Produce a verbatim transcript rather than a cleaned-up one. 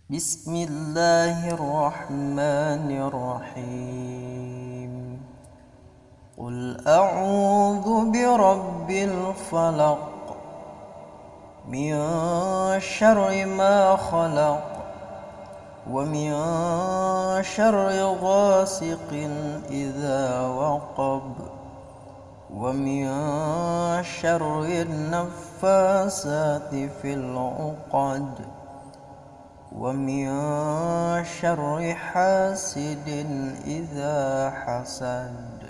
بسم الله الرحمن الرحيم قل أعوذ برب الفلق من شر ما خلق ومن شر غاسق إذا وقب ومن شر النفاسات في العقد ومن شر حاسد إذا حسد.